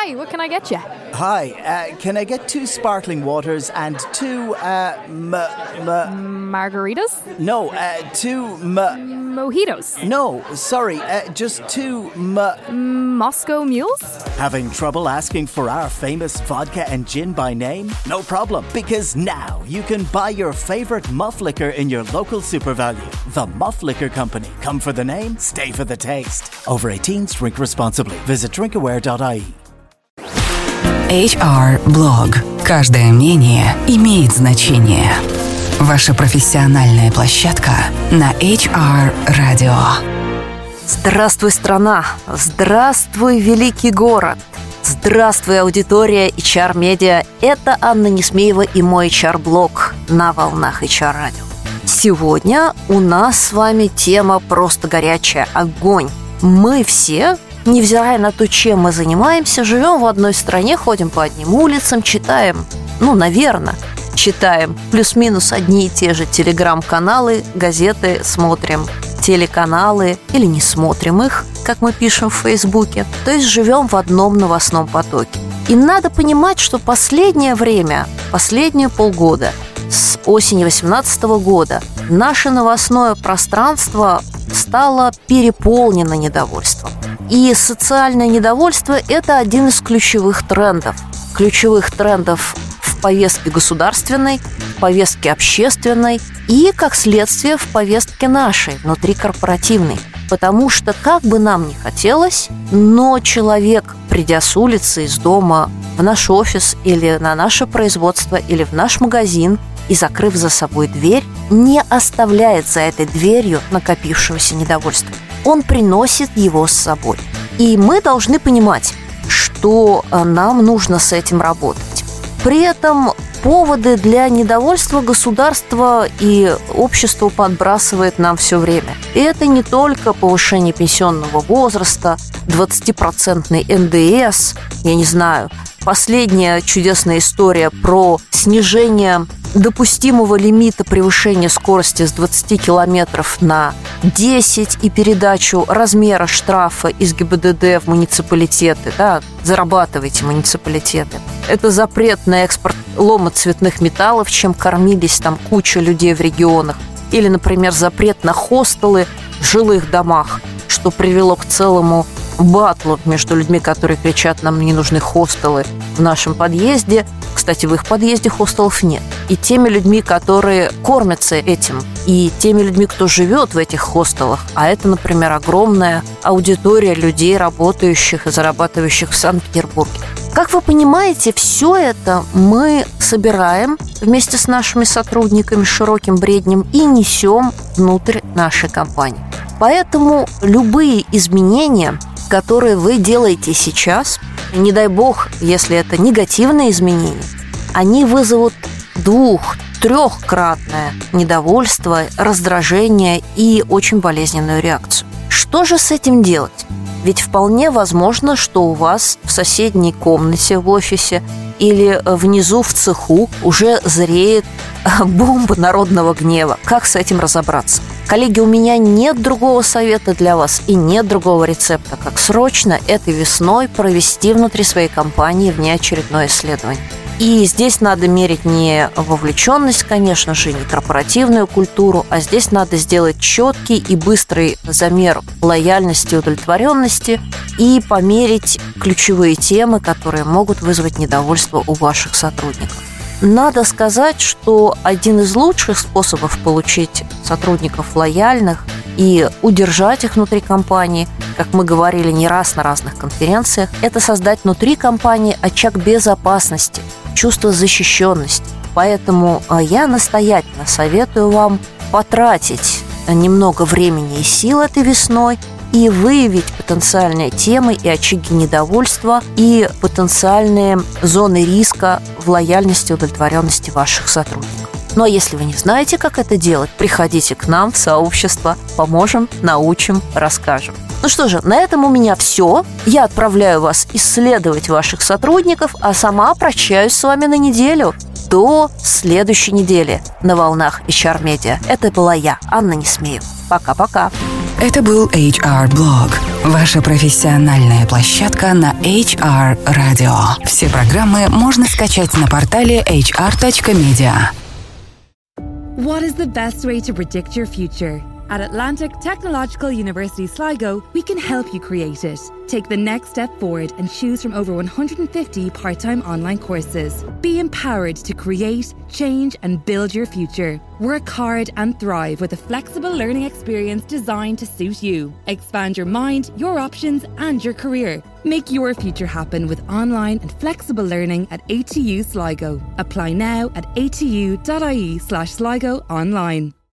Hi, what can I get you? Hi, can I get 2 sparkling waters and 2, Margaritas? No, 2, Mojitos? No, sorry, just 2, Moscow mules? Having trouble asking for our famous vodka and gin by name? No problem, because now you can buy your favorite Muff Liquor in your local SuperValu. The Muff Liquor Company. Come for the name, stay for the taste. Over 18s, drink responsibly. Visit drinkaware.ie. HR-блог. Каждое мнение имеет значение. Ваша профессиональная площадка на HR-радио. Здравствуй, страна! Здравствуй, великий город! Здравствуй, аудитория HR-медиа! Это Анна Несмеева и мой HR-блог на волнах HR-радио. Сегодня у нас с вами тема просто горячая – огонь. Мы все, невзирая на то, чем мы занимаемся, живем в одной стране, ходим по одним улицам, читаем, наверное, читаем плюс-минус одни и те же телеграм-каналы, газеты, смотрим телеканалы или не смотрим их, как мы пишем в Фейсбуке. То есть живем в одном новостном потоке. И надо понимать, что последнее время, последние полгода, с осени 2018 года, наше новостное пространство стало переполнено недовольством. И социальное недовольство – это один из ключевых трендов. Ключевых трендов в повестке государственной, в повестке общественной и, как следствие, в повестке нашей, внутрикорпоративной. Потому что, как бы нам ни хотелось, но человек, придя с улицы, из дома в наш офис или на наше производство, или в наш магазин, и, закрыв за собой дверь, не оставляет за этой дверью накопившегося недовольства. Он приносит его с собой. И мы должны понимать, что нам нужно с этим работать. При этом поводы для недовольства государство и общество подбрасывает нам все время. И это не только повышение пенсионного возраста, 20% НДС, я не знаю, последняя чудесная история про снижение допустимого лимита превышения скорости с 20 километров на 10 и передачу размера штрафа из ГИБДД в муниципалитеты. Да, зарабатывайте, муниципалитеты. Это запрет на экспорт лома цветных металлов, чем кормились там куча людей в регионах. Или, например, запрет на хостелы в жилых домах, что привело к целому батлу между людьми, которые кричат: нам не нужны хостелы в нашем подъезде. Кстати, в их подъезде хостелов нет. И теми людьми, которые кормятся этим, и теми людьми, кто живет в этих хостелах. А это, например, огромная аудитория людей, работающих и зарабатывающих в Санкт-Петербурге. Как вы понимаете, все это мы собираем вместе с нашими сотрудниками широким бреднем и несем внутрь нашей компании. Поэтому любые изменения, которые вы делаете сейчас, не дай бог, если это негативные изменения, они вызовут 2-3-кратное недовольство, раздражение и очень болезненную реакцию. Что же с этим делать? Ведь вполне возможно, что у вас в соседней комнате в офисе или внизу в цеху уже зреет бомба народного гнева. Как с этим разобраться? Коллеги, у меня нет другого совета для вас и нет другого рецепта, как срочно этой весной провести внутри своей компании внеочередное исследование. И здесь надо мерить не вовлеченность, конечно же, не корпоративную культуру, а здесь надо сделать четкий и быстрый замер лояльности и удовлетворенности и померить ключевые темы, которые могут вызвать недовольство у ваших сотрудников. Надо сказать, что один из лучших способов получить сотрудников лояльных и удержать их внутри компании, как мы говорили не раз на разных конференциях, это создать внутри компании очаг безопасности, чувство защищенности. Поэтому я настоятельно советую вам потратить немного времени и сил этой весной и выявить потенциальные темы и очаги недовольства и потенциальные зоны риска в лояльности и удовлетворенности ваших сотрудников. Ну а если вы не знаете, как это делать, приходите к нам в сообщество, поможем, научим, расскажем. Ну что же, на этом у меня все. Я отправляю вас исследовать ваших сотрудников, а сама прощаюсь с вами на неделю. До следующей недели на волнах HR Media. Это была я, Анна Несмеева. Пока-пока. Это был HR-блог. Ваша профессиональная площадка на HR Radio. Все программы можно скачать на портале hr.media. What is the best way to predict your future? At Atlantic Technological University Sligo, we can help you create it. Take the next step forward and choose from over 150 part-time online courses. Be empowered to create, change and build your future. Work hard and thrive with a flexible learning experience designed to suit you. Expand your mind, your options and your career. Make your future happen with online and flexible learning at ATU Sligo. Apply now at atu.ie/Sligo online.